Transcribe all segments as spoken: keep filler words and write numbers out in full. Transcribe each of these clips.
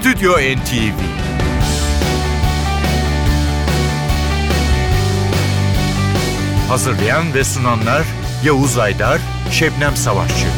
Stüdyo N T V. Hazırlayan ve sunanlar Yavuz Aydar, Şebnem Savaşçı.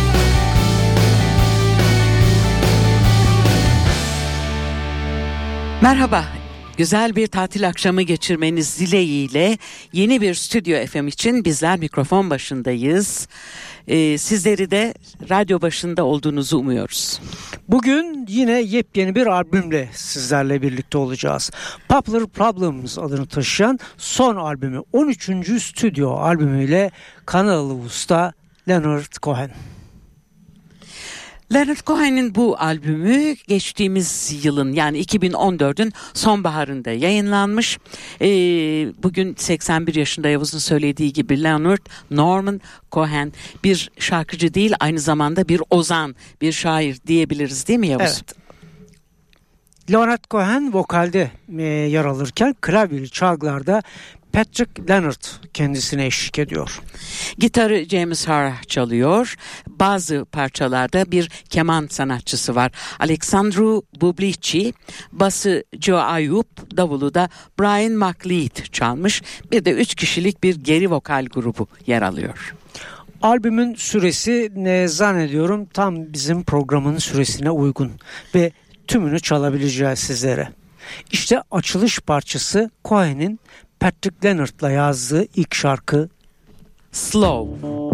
Merhaba, güzel bir tatil akşamı geçirmeniz dileğiyle yeni bir Stüdyo F M için bizler mikrofon başındayız. Ee, sizleri de radyo başında olduğunuzu umuyoruz. Bugün yine yepyeni bir albümle sizlerle birlikte olacağız. Popular Problems adını taşıyan son albümü, on üçüncü stüdyo albümüyle kanalı usta Leonard Cohen. Leonard Cohen'in bu albümü geçtiğimiz yılın yani iki bin on dördün sonbaharında yayınlanmış. Ee, bugün seksen bir yaşında, Yavuz'un söylediği gibi Leonard Norman Cohen bir şarkıcı değil, aynı zamanda bir ozan, bir şair diyebiliriz değil mi Yavuz? Evet. Leonard Cohen vokalde e, yer alırken klavyeli çalgılarda Patrick Leonard kendisine eşlik ediyor. Gitarı James Harr çalıyor. Bazı parçalarda bir keman sanatçısı var, Alexandru Bublici. Bası Joe Ayup, davulu da Brian McLeod çalmış. Bir de üç kişilik bir geri vokal grubu yer alıyor. Albümün süresi ne zannediyorum tam bizim programın süresine uygun ve tümünü çalabileceğiz sizlere. İşte açılış parçası Cohen'in Patrick Leonard'la yazdığı ilk şarkı Slow.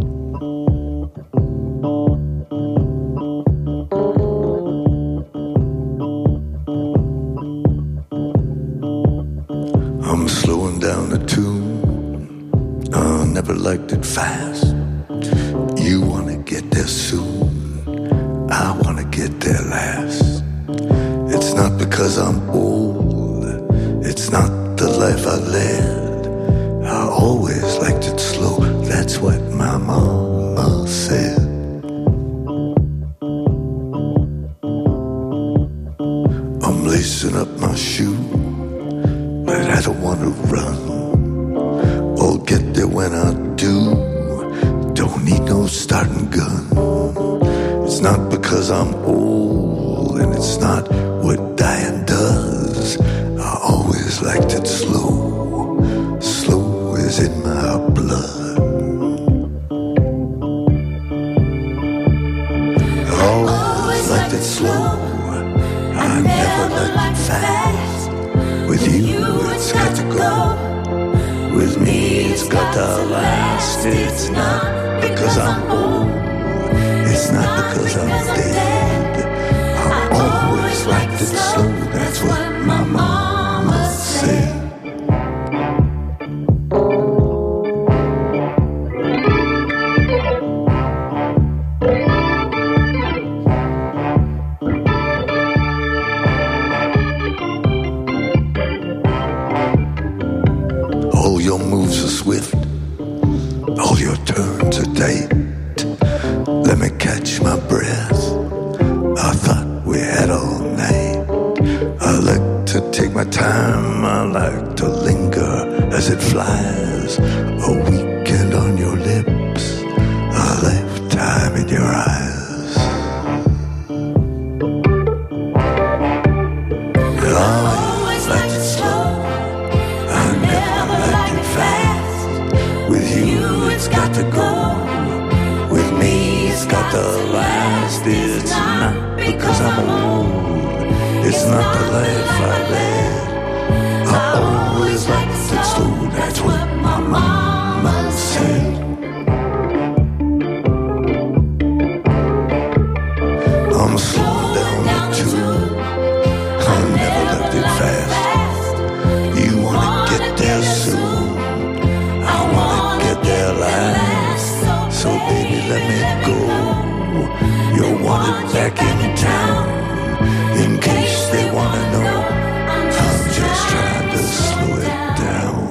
I'm slowing down the tune. I never liked it fast. You wanna get there soon. I wanna get there last. It's not because I'm old. It's not the life I led. I always liked it slow. That's what my mama said. I'm lacing up my shoe, but I don't want to run. I'll get there when I do. Don't need no starting gun. It's not because I'm old, and it's not what dying does. I always liked it slow. Slow is in my blood. I always liked it slow. I never liked it fast. With you it's got to go. With me it's got to last. It's not because I'm old. It's not because I'm dead. I always liked it slow. That's what my mama said. All your moves are swift. All your turns are tight. Let me catch my breath. I thought we had all night. I like to take my time. I like to linger as it flies. A weekend on your lips. A lifetime in your eyes. I always liked it slow. I never liked it fast. With you it's got to go. With me it's got to last. It's not because I'm old. It's not the life I led. I always liked it slow. That's what my mama said. I'm slowing down the tune. I never loved it fast. You wanna get there soon. I wanna get there last. So baby, let me go. You're wanted back in town. In case they wanna know, I'm just trying to slow it down.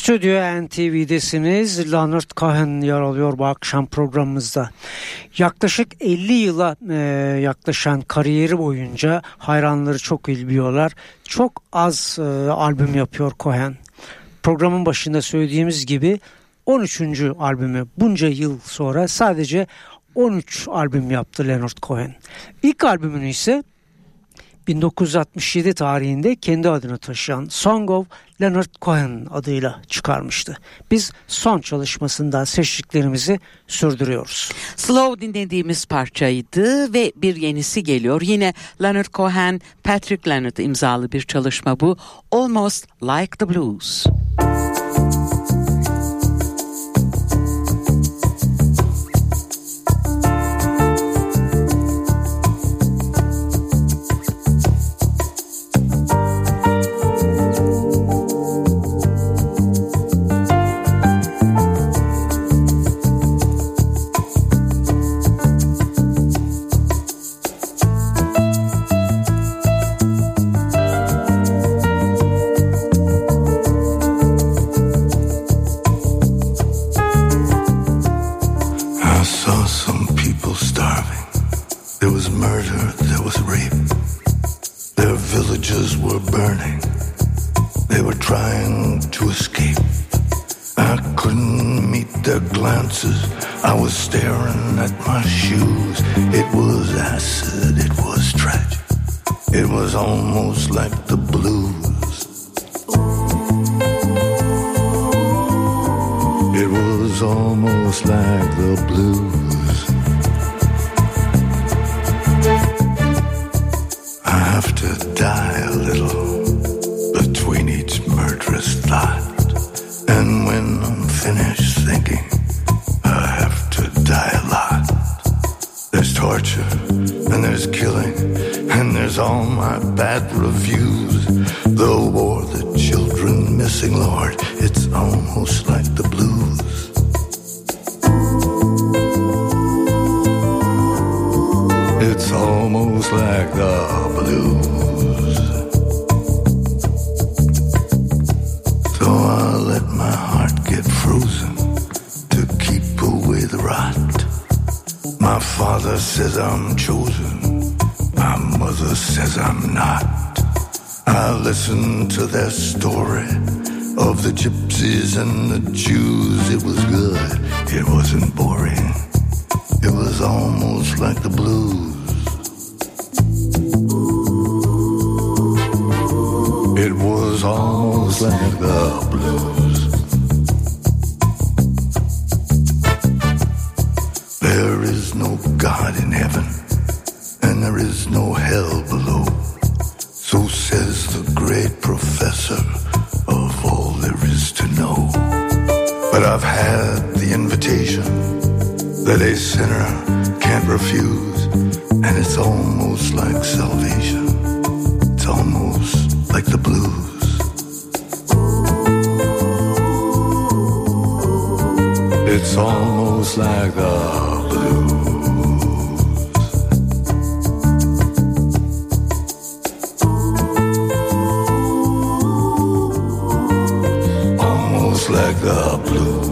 Stüdyo N T V'desiniz. Leonard Cohen yer alıyor bu akşam programımızda. Yaklaşık elli yıla e, yaklaşan kariyeri boyunca hayranları çok iyi biliyorlar. Çok az e, albüm yapıyor Cohen. Programın başında söylediğimiz gibi on üçüncü albümü bunca yıl sonra sadece on üç albüm yaptı Leonard Cohen. İlk albümünü ise bin dokuz yüz altmış yedi tarihinde kendi adını taşıyan Song of Leonard Cohen adıyla çıkarmıştı. Biz son çalışmasından seçtiklerimizi sürdürüyoruz. Slow dinlediğimiz parçaydı ve bir yenisi geliyor. Yine Leonard Cohen, Patrick Leonard imzalı bir çalışma bu. Almost Like the Blues. I was staring at my shoes. It was acid, it was tragic. It was almost like the blues. It was almost like the blues. I have to die a little between each murderous thought. And when I'm finished thinking, I have to die a lot. There's torture, and there's killing, and there's all my bad reviews. The war, the children missing, Lord, it's almost like the blues. It's almost like the blues. So I let my heart get frozen to keep away the rot. My father says I'm chosen, my mother says I'm not. I listen to their story of the gypsies and the Jews. It was good, it wasn't boring. It was almost like the blues. It was almost like the blues. There is no God in heaven, and there is no hell below. So says the great professor of all there is to know. But I've had the invitation that a sinner can't refuse, and it's almost like salvation. It's almost like the blues. It's almost like the blues. Almost like the blues.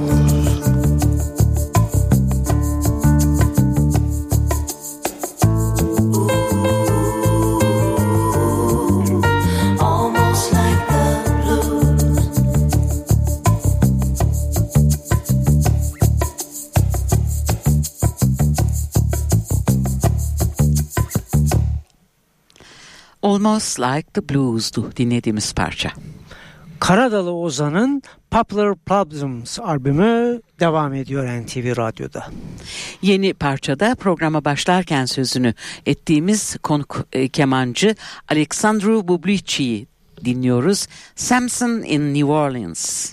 Almost Like the Blues'du dinlediğimiz parça. Karadalı Ozan'ın Popular Problems albümü devam ediyor N T V Radyo'da. Yeni parçada programa başlarken sözünü ettiğimiz konuk e, kemancı Alexandru Bublici'yi dinliyoruz. Samson in New Orleans.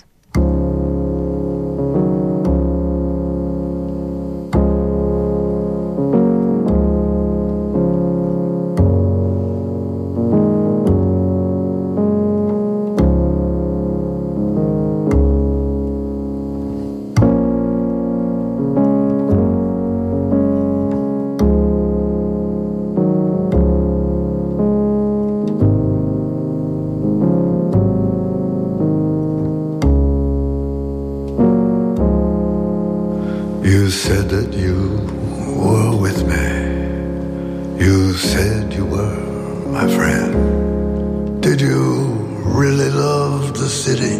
said that you were with me. You said you were my friend. Did you really love the city?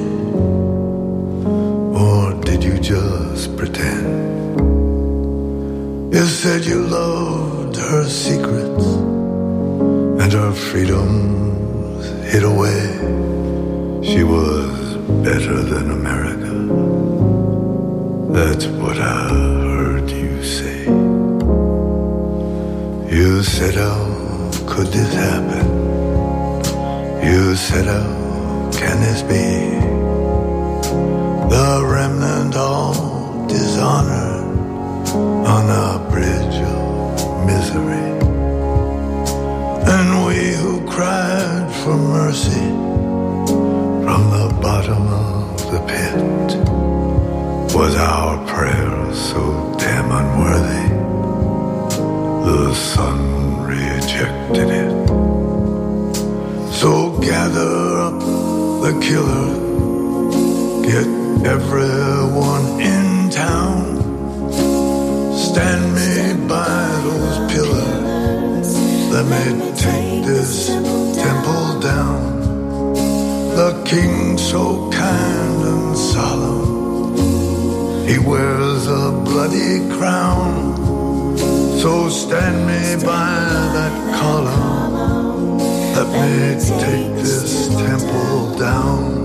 Or did you just pretend? You said you loved her secrets and her freedoms hid away. She was better than America. That's what I heard you say. You said, how could this happen? You said, how can this be? The remnant all dishonored on a bridge of misery. And we who cried for mercy from the bottom of the pit, was our prayer so damn unworthy the sun rejected it? So gather up the killer, get everyone in town, stand me by those pillars, let me take this temple down. The king so kind and solemn, he wears a bloody crown. So stand me by that column, let me take this temple down.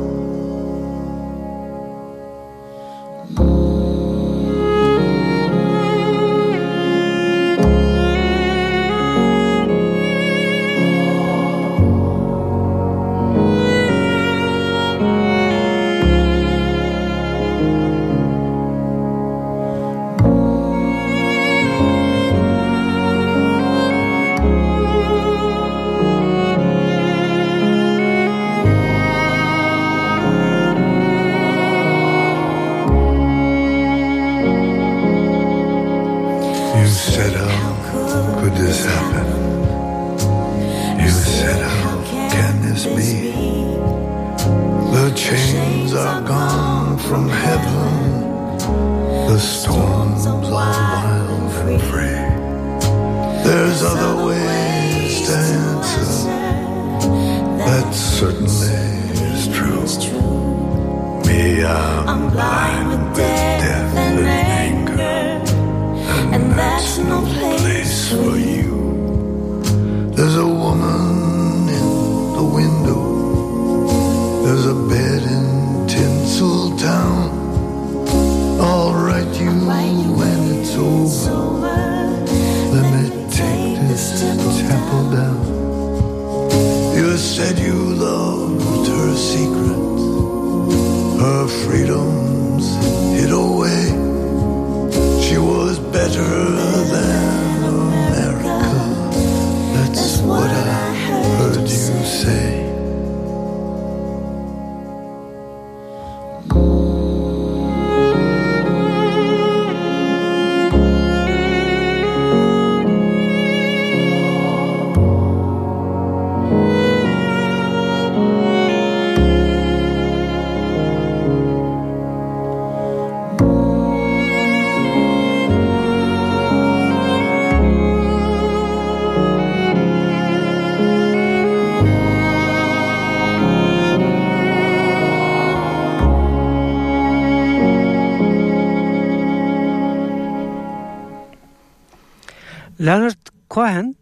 Leonard Cohen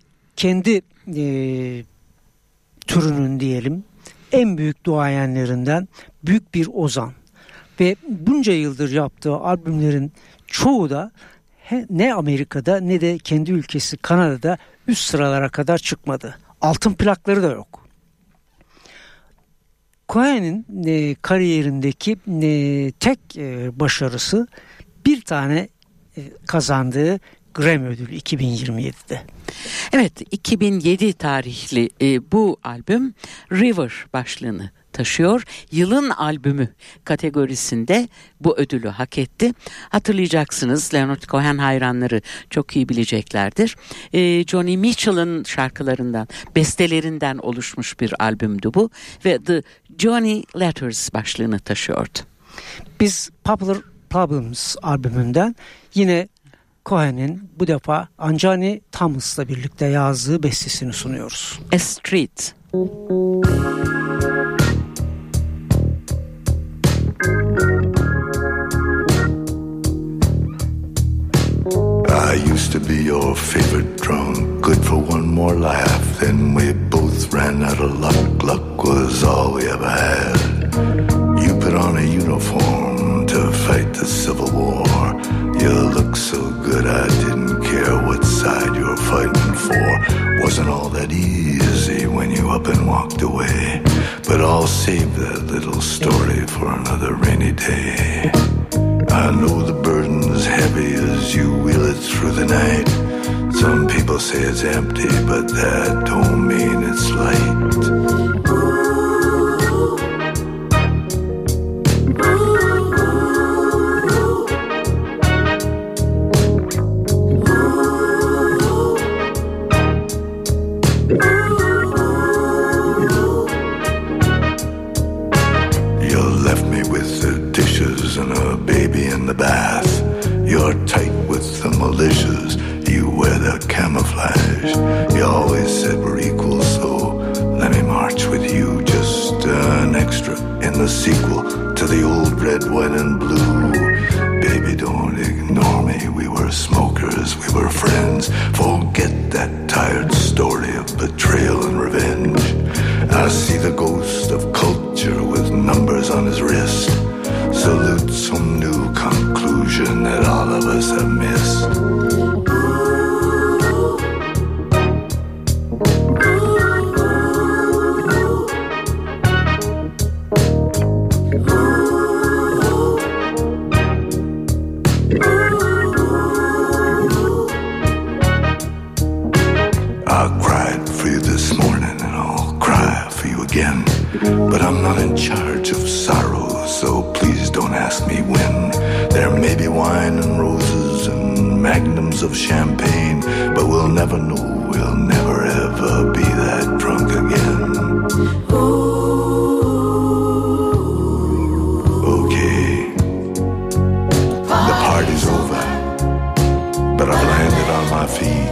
kendi e, türünün diyelim en büyük duayenlerinden, büyük bir ozan ve bunca yıldır yaptığı albümlerin çoğu da he, ne Amerika'da ne de kendi ülkesi Kanada'da üst sıralara kadar çıkmadı. Altın plakları da yok. Cohen'in e, kariyerindeki e, tek e, başarısı bir tane e, kazandığı Grammy ödülü iki bin yirmi yedide. Evet, iki bin yedi tarihli e, bu albüm River başlığını taşıyor. Yılın albümü kategorisinde bu ödülü hak etti. Hatırlayacaksınız, Leonard Cohen hayranları çok iyi bileceklerdir. E, Johnny Mitchell'ın şarkılarından, bestelerinden oluşmuş bir albümdü bu ve The Johnny Letters başlığını taşıyordu. Biz Popular Problems albümünden yine Cohen'in bu defa Anjani Thomas'la birlikte yazdığı bestesini sunuyoruz. A Street. I used to be your favorite drunk, good for one more laugh. Then we both ran out of luck. Luck was all we ever had. You put on a uniform to fight the Civil War. You looked so good I didn't care what side you were fighting for. Wasn't all that easy when you up and walked away. But I'll save that little story for another rainy day. I know the burden's heavy as you wheel it through the night. Some people say it's empty, but that don't mean it's light. The bath, you're tight with the militias, you wear the camouflage. You always said we're equal, so let me march with you. Just an extra in the sequel to the old red, white and blue. Baby, don't ignore me, we were smokers, we were friends. Forget that tired story of betrayal and revenge. I see the ghost of culture with numbers on his wrist. Salute some new conclusion that all of us have missed. I cried for you this morning and I'll cry for you again. But I'm not in charge of sorrow, so please don't ask me when. There may be wine and roses and magnums of champagne, but we'll never know, we'll never ever be that drunk again. Okay, the party's over, but I've landed on my feet,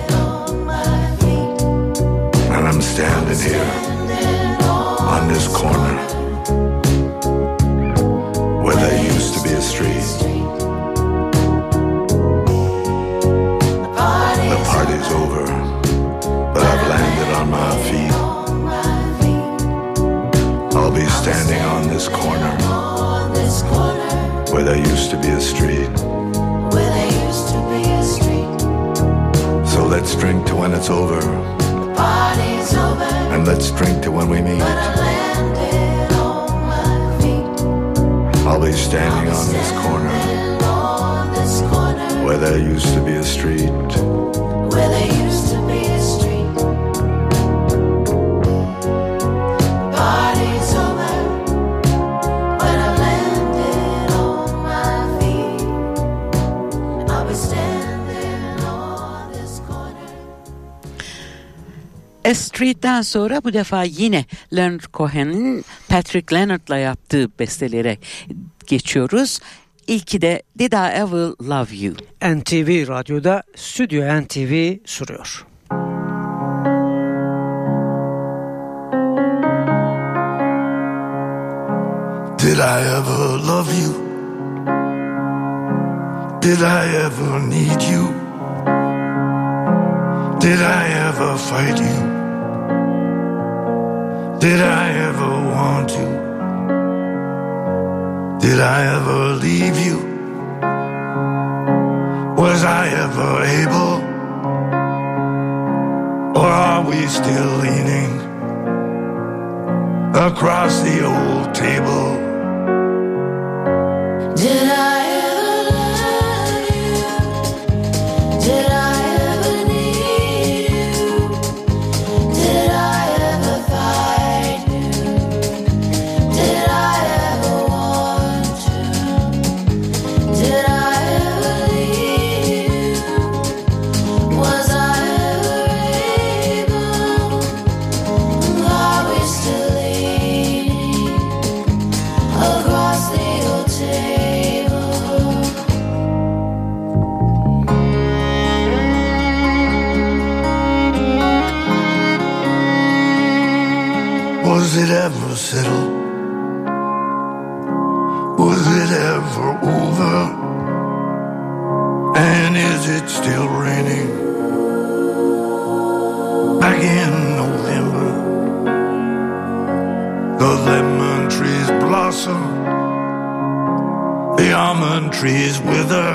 and I'm standing here on this corner where there used to be a street. The party's over, but I've landed on my feet. I'll be standing on this corner where there used to be a street. So let's drink to when it's over, and let's drink to when we meet. I'll be standing on this corner where there used to be a street. Where there used to be a street. Party's over when I landed on my feet. I'll be standing on this corner. A Street'ten sonra bu defa yine Leonard Cohen'in Patrick Leonard'la yaptığı bestelere geçiyoruz. İlki de Did I Ever Love You? N T V Radyo'da Stüdyo N T V sunuyor. Did I ever love you? Did I ever need you? Did I ever fight you? Did I ever want you? Did I ever leave you? Was I ever able? Or are we still leaning across the old table? Did I ever love you? Did I ever need you? Did I ever fight you? Did I ever want you? Did I ever leave you? Was I ever able? Are we still leaning Was it ever over? And is it still raining? Back in November, the lemon trees blossom, the almond trees wither.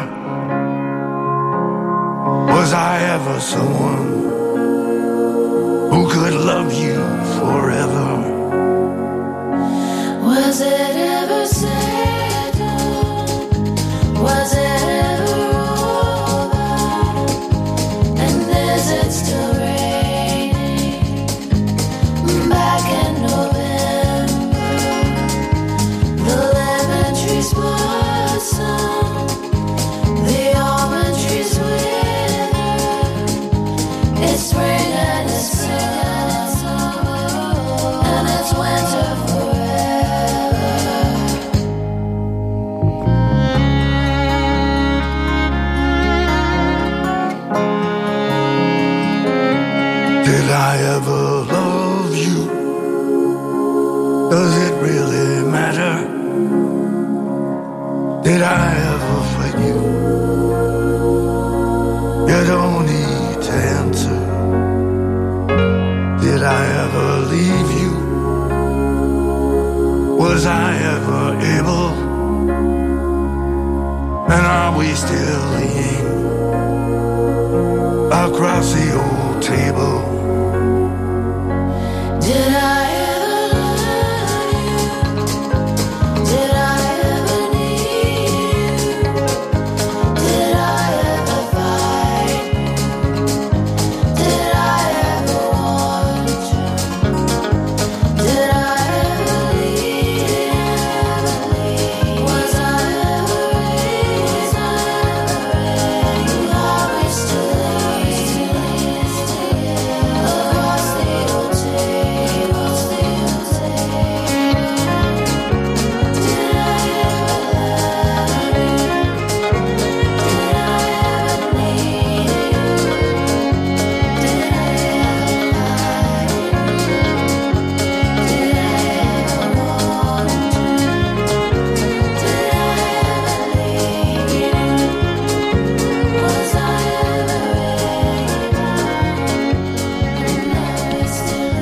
Was I ever someone who could love you forever? Was it ever settled? Was it ever over? And is it still raining? Back in November, the lemon trees blossom, the almond trees wither. It's spring and it's summer, and it's winter forever. Did I ever love you? Does it really matter? Did I ever fight you? You don't need to answer. Did I ever leave you? Was I ever able? And are we still leaning across the old table? Did I ever love you? Did I ever need you? Did I ever fight you? Did I ever want you? Did I ever leave? Was I ever raised? Are we still leaning across the old table? Did I ever love you? Did I ever need you? Did I ever fight you? Did I ever want you? Did I ever leave you? Was I ever able? And are we still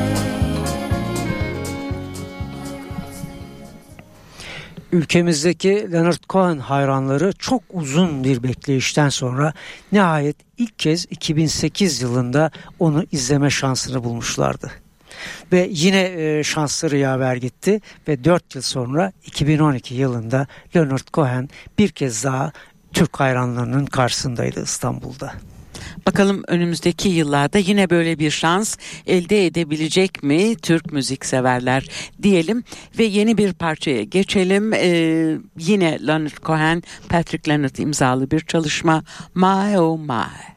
Ülkemizdeki Leonard Cohen hayranları çok uzun bir bekleyişten sonra nihayet ilk kez iki bin sekiz yılında onu izleme şansını bulmuşlardı. Ve yine e, şansları yaver gitti ve dört yıl sonra iki bin on iki yılında Leonard Cohen bir kez daha Türk hayranlarının karşısındaydı İstanbul'da. Bakalım önümüzdeki yıllarda yine böyle bir şans elde edebilecek mi Türk müzik severler diyelim ve yeni bir parçaya geçelim. Ee, yine Leonard Cohen, Patrick Leonard imzalı bir çalışma, My Oh My.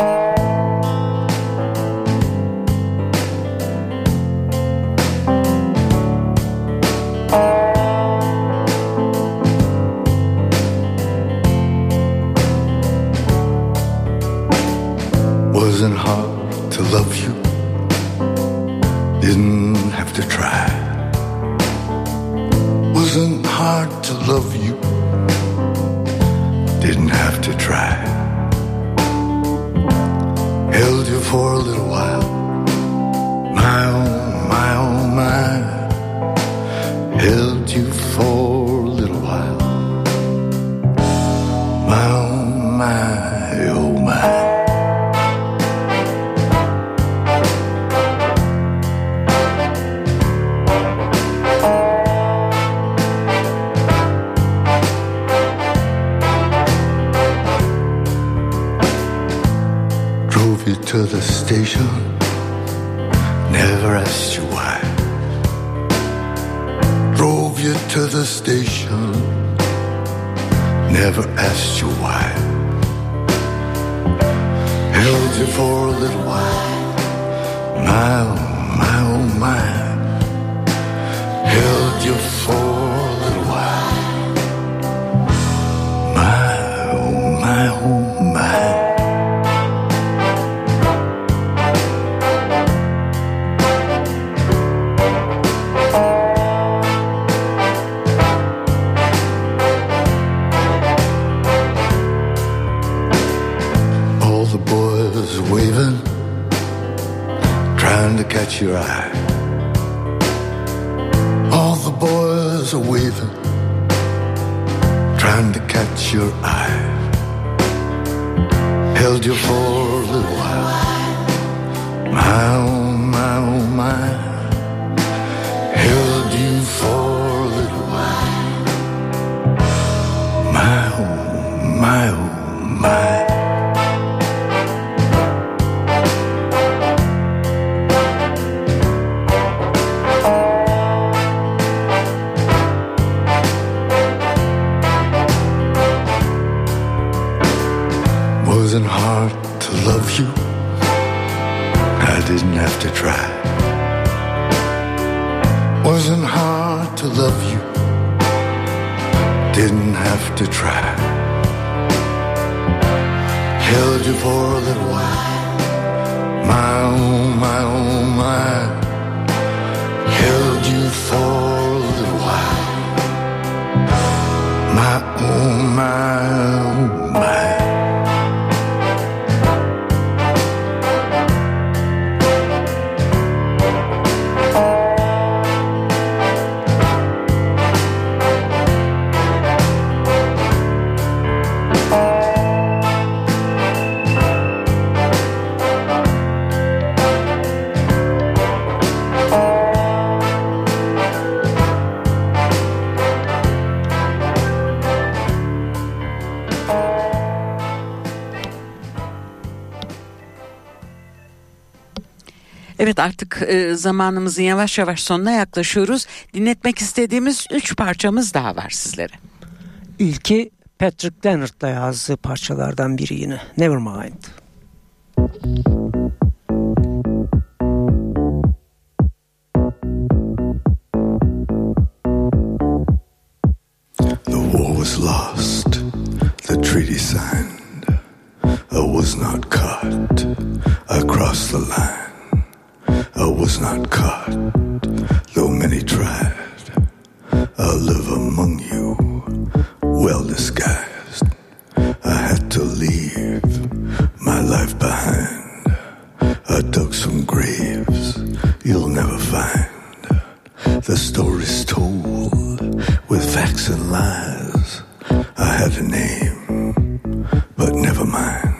Wasn't hard to love you, didn't have to try. Wasn't hard to love you, didn't have to try. Held you for a little while, my oh, my oh, my. Held you for a little while, my oh, my, oh, my. To the station, never asked you why. Drove you to the station, never asked you why. Held you for a little while, my oh, my oh, my. Held you for a little while, my oh, my oh, my. catch your eye. All the boys are waving, trying to catch your eye. Held you for a little while. My oh my oh my. Held you for a little while. My oh my oh my. Wasn't hard to love you. I didn't have to try. Wasn't hard to love you. Didn't have to try. Held you for a little while. My oh my oh my. Held you for a little while. My oh my oh my. Evet, artık e, zamanımızın yavaş yavaş sonuna yaklaşıyoruz. Dinletmek istediğimiz üç parçamız daha var sizlere. İlki Patrick Leonard'la yazdığı parçalardan biri yine. Nevermind. The war was lost, the treaty signed. I was not caught, I crossed the line. I was not caught, though many tried. I live among you, well disguised. I had to leave my life behind. I dug some graves you'll never find. The story's told with facts and lies. I had a name, but never mind.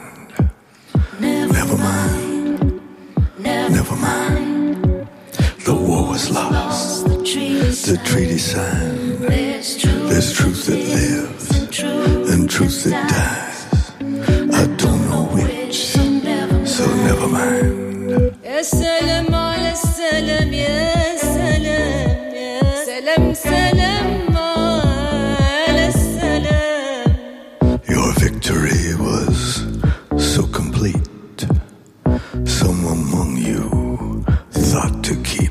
Never mind. Never mind. The war was lost. The treaty signed. There's truth that lives and truth that dies. I don't know which, so never mind. Ya selam ala selam ya selam ya selam selam ala selam. Your victory was so complete. Some among you thought to keep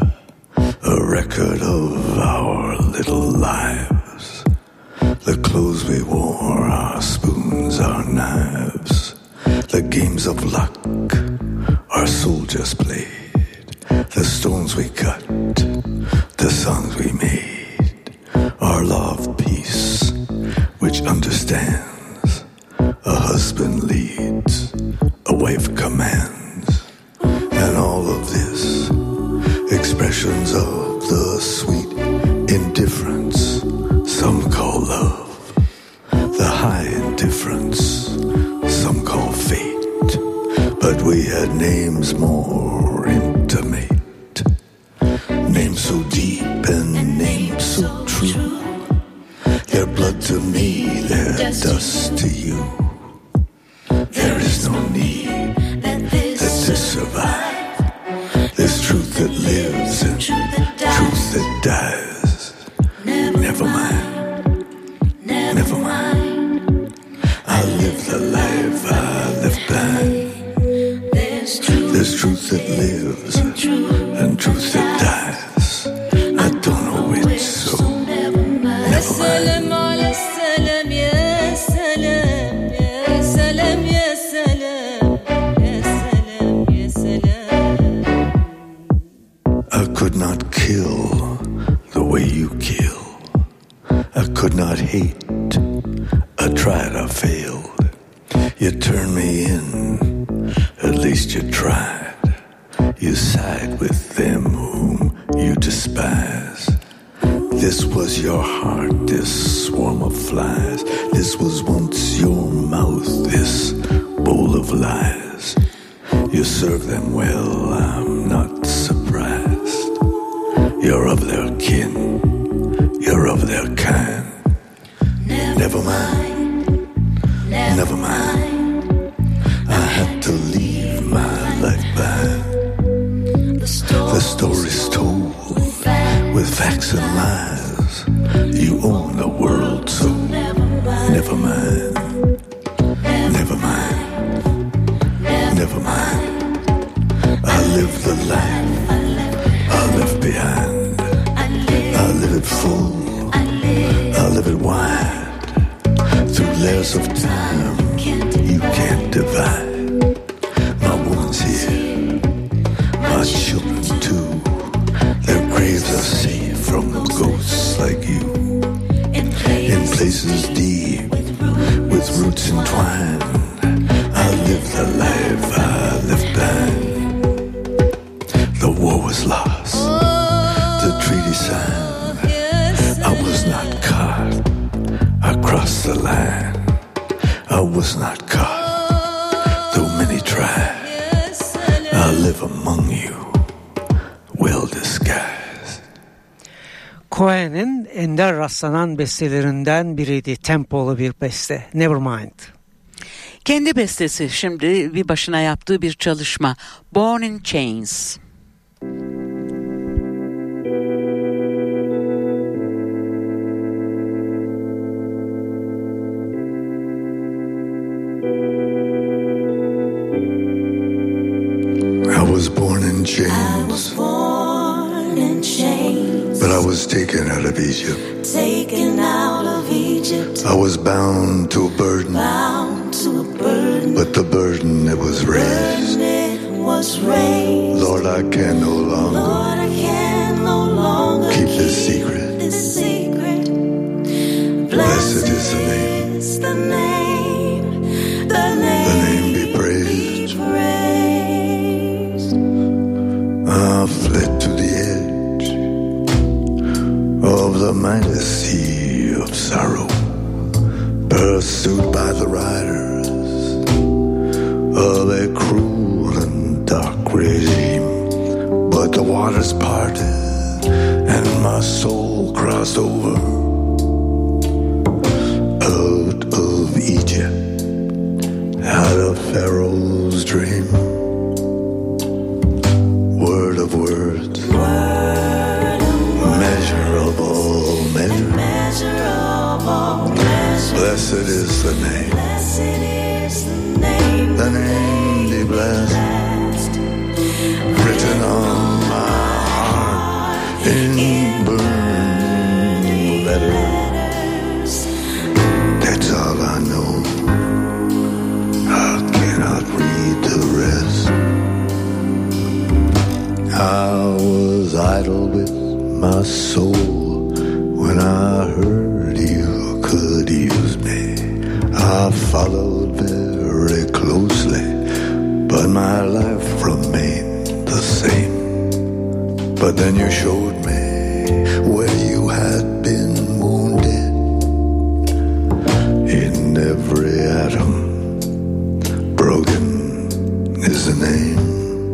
a record of our little lives. The clothes we wore, our spoons, our knives. The games of luck our soldiers played. The stones we cut, the songs we made. Our law of peace, which understands. A husband leads, a wife commands. And all of this, expressions of the sweet indifference some call love, the high indifference some call fate. But we had names more intimate, names so deep and names so true. Their blood to me, their dust to you. There is no need that this survive. There's truth that lives and truth that dies. Never mind, never mind. I live the life I left behind. There's truth that lives and truth that dies. I don't know which, so never mind. Selam ala selam ya selam ya selam ya selam ya selam ya selam. I could not kill the way you kill. I could not hate. I tried, I failed. You turned me in, at least you tried. You side with them whom you despise. This was your heart, this swarm of flies. This was once your mouth, this bowl of lies. You serve them well, I'm not surprised. You're of their kin, you're of their kind. Never mind, never mind. I had to leave my life behind. The story's told with facts and lies. You own the world, so never mind, never mind, never mind. I live the life I left behind. I live it full, I live it wide. Through layers of time you can't divide. My woman's here, my children too. Their graves are safe from ghosts like you. In places deep, with roots entwined, I live the life I left behind. The war was lost, the treaty signed. I was not caught, I crossed the line. I was not caught, though many tried. I live among you, well disguised. Cohen'in ender rastlanan bestelerinden biriydi. Tempolu bir beste. Nevermind. Kendi bestesi, şimdi bir başına yaptığı bir çalışma. Born in Chains. I was born in chains. I was born in chains. But I was taken out of Egypt. Taken out of Egypt. I was bound to a burden. Bound to a burden. But the burden it was raised. Burden it was raised. Lord, I can no longer. Lord, I can no longer keep this secret. This secret. Blessed is the name. Is the name. The name. The name be praised. Be praised. I fled to the edge of the mighty sea of sorrow, pursued by the riders of a cruel and dark regime. But the waters parted and my soul crossed over out of Egypt, out of Pharaoh's dream. Word of words, Word of measure of all measure. measure of all measure. Blessed is the name, Blessed is the name. the name be blessed, Blessed. written on my heart in burning letters. That's all I know, I cannot read the rest. I was idle with my soul when I heard you could use me. I followed very closely, but my life remained the same. But then you showed me where you had been wounded. In every atom, broken is the name.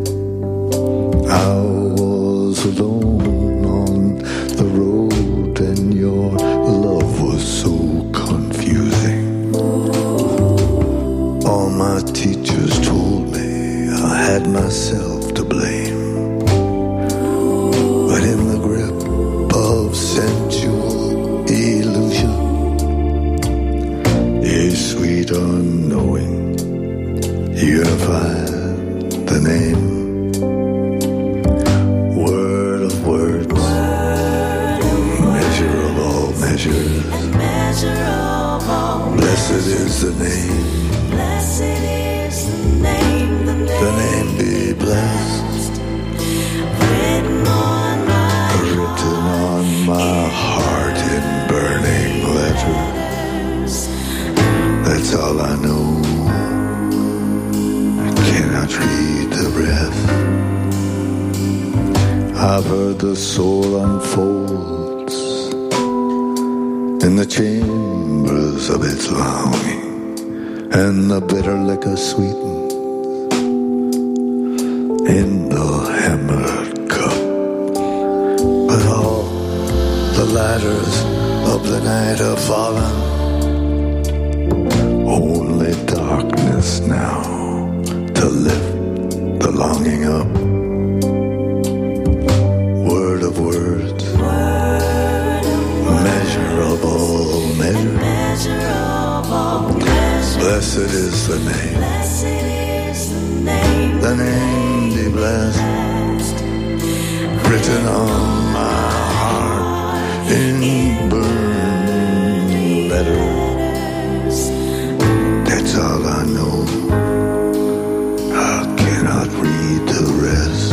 I was alone on the road and your love was so confusing. All my teachers told me I had myself to blame. But in the grip of sensual illusion, a sweet unknowing unified the name. Word of words, measure of all measures. Measure of all Blessed is the name, Blessed is the name. The name. the name be blessed, Written on my written on my heart in burning letters. That's all I know, I cannot read the rest. the soul unfolds in the chambers of its longing, and the bitter liquor sweetens in the hammered cup. But all the ladders of the night have fallen, only darkness now to lift the longing up. Word of words, measure of all measures. Blessed is the name, the name be blessed, written on my heart in burning letters. That's all I know. I cannot read the rest.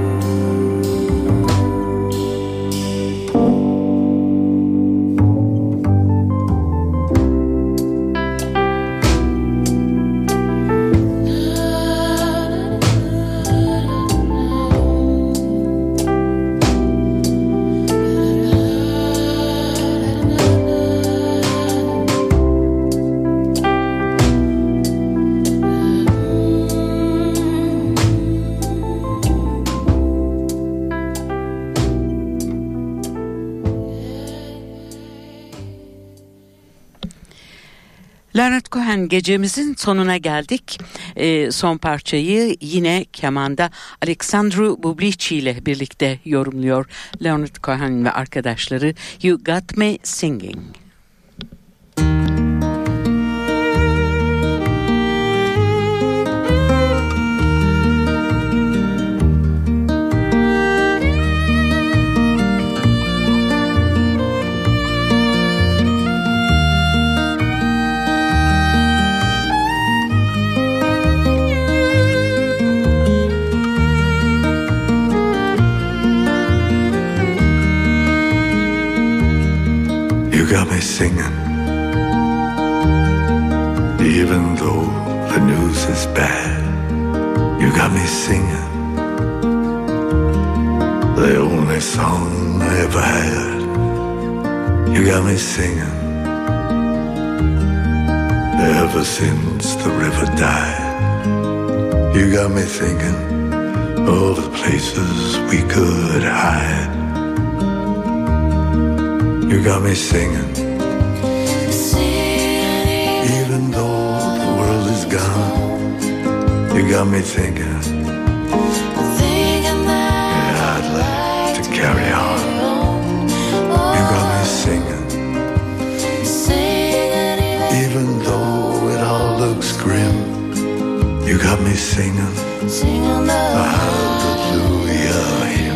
Leonard Cohen, gecemizin sonuna geldik. E, son parçayı yine kemanda Alexandru Bublici ile birlikte yorumluyor Leonard Cohen ve arkadaşları. You Got Me Singing. You got me singing, even though the news is bad. You got me singing, the only song I ever had. You got me singing, ever since the river died. You got me thinking of the places we could hide. You got me singing, even though the world is gone. You got me thinking, yeah, I'd like to carry on. You got me singing, even though it all looks grim. You got me singing a hallelujah hymn.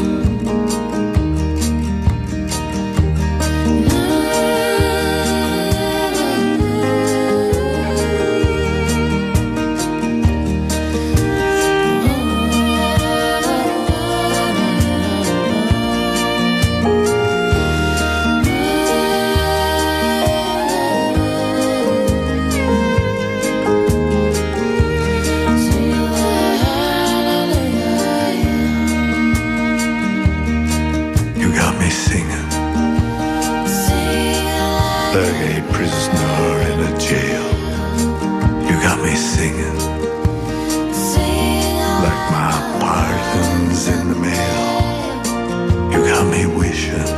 Like a prisoner in a jail. You got me singing, like my pardons in the mail. You got me wishing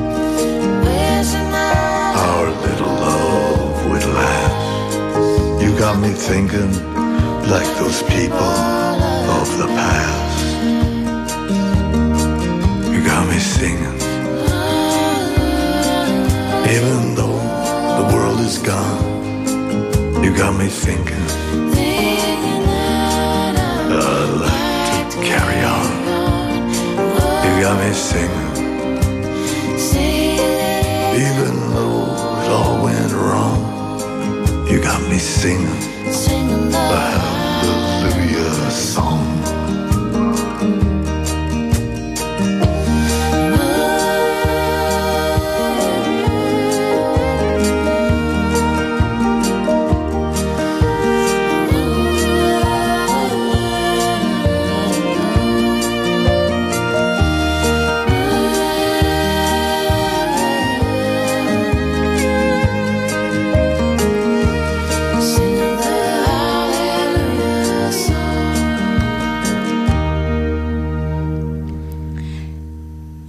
our little love would last. You got me thinking like those people of the past. You got me singing, even though the world is gone. You got me thinking, I'd like to carry on. You got me singing, even though it all went wrong. You got me singing a hallelujah song.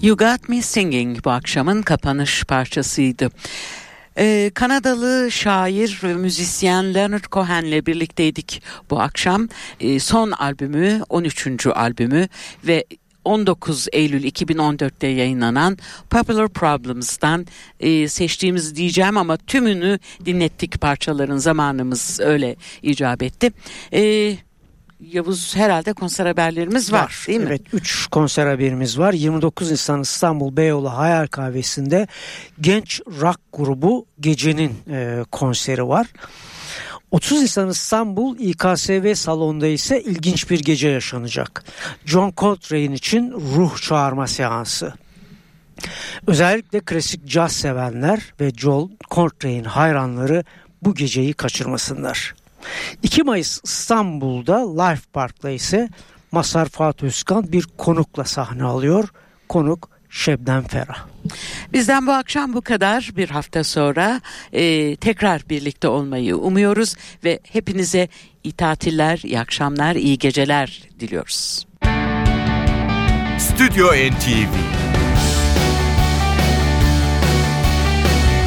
You Got Me Singing bu akşamın kapanış parçasıydı. Ee, Kanadalı şair ve müzisyen Leonard Cohen'le birlikteydik bu akşam. Ee, son albümü, on üçüncü albümü ve on dokuz Eylül iki bin on dörtte yayınlanan Popular Problems'tan e, seçtiğimiz diyeceğim ama tümünü dinlettik, parçaların, zamanımız öyle icap etti. Eee Yavuz, herhalde konser haberlerimiz var, var değil mi? Evet, üç konser haberimiz var. yirmi dokuz Nisan İstanbul Beyoğlu Hayal Kahvesi'nde genç rock grubu Gece'nin e, konseri var. otuz Nisan İstanbul İ K S V salonda ise ilginç bir gece yaşanacak. John Coltrane için ruh çağırma seansı. Özellikle klasik caz sevenler ve John Coltrane hayranları bu geceyi kaçırmasınlar. iki Mayıs İstanbul'da Life Park'ta ise Mazhar Fuat Özkan bir konukla sahne alıyor. Konuk Şebnem Ferah. Bizden bu akşam bu kadar. Bir hafta sonra e, tekrar birlikte olmayı umuyoruz ve hepinize iyi tatiller, iyi akşamlar, iyi geceler diliyoruz. Stüdyo N T V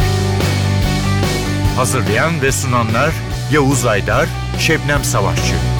Hazırlayan ve sunanlar Yavuz Aydar, Şebnem Savaşçı.